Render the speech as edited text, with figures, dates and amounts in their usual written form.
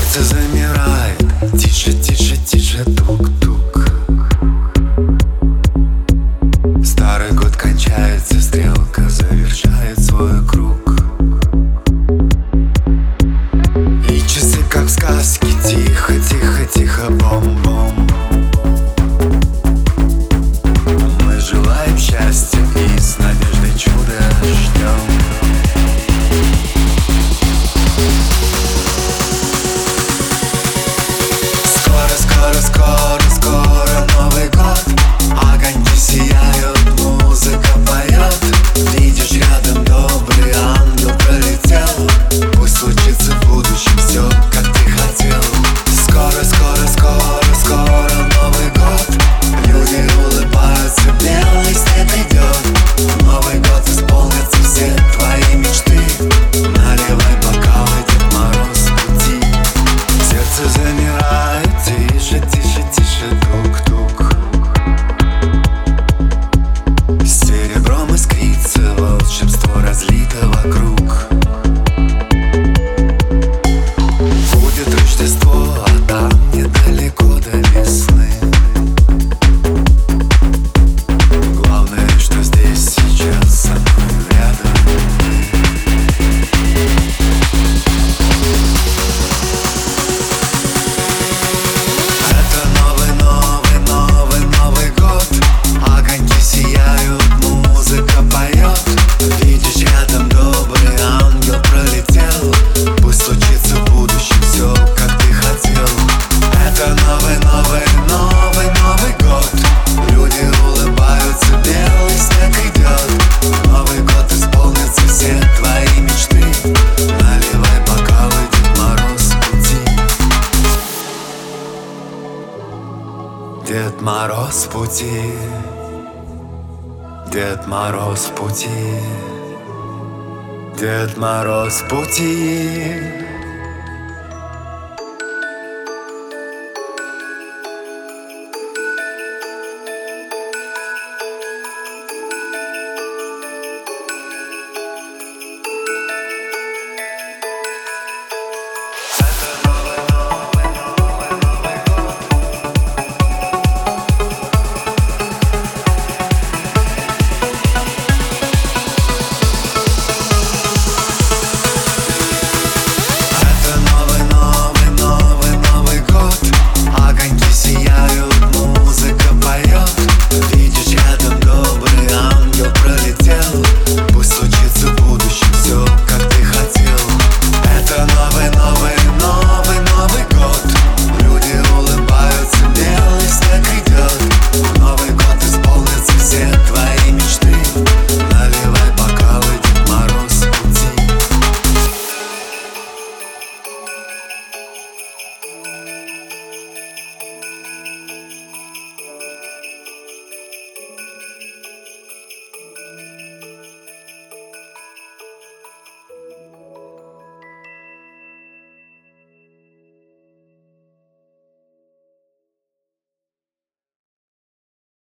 Сердце замирает, тише, тише, тише, тук-тук. Старый год кончается, стрелка завершает свой круг. И часы, как в сказке, тихо, тихо, тихо, бом-бом. Мы желаем счастья и с надеждой чуда ждем. Скоро, скоро Новый год. Огоньки сияют, музыка поет. Видишь, рядом добрый ангел пролетел. Пусть случится в будущем все, как ты хотел. Скоро, скоро, скоро, скоро Новый год. Люди улыбаются, белый снег идет. Новый год исполнятся все твои мечты. Наливай бокалы, Дед Мороз в пути. Сердце замирает, тише, тише, тише, тук-тук. Серебром искрится, волшебство разлито вокруг. Будет Рождество, а там недалеко до весны. Главное, что здесь сейчас со мной рядом ты. Это новый, новый, новый, Новый год. Огоньки сияют, музыка поет. Видишь, рядом добрый ангел пролетел. Пусть случится в будущем все, как ты хотел. Это новый, новый, новый, Новый год. Люди улыбаются, белый снег идет. Новый год исполнится все твои мечты. Наливай бокалы, Дед Мороз в пути. Дед Мороз в пути. Дед Мороз в пути. Дед Мороз в пути.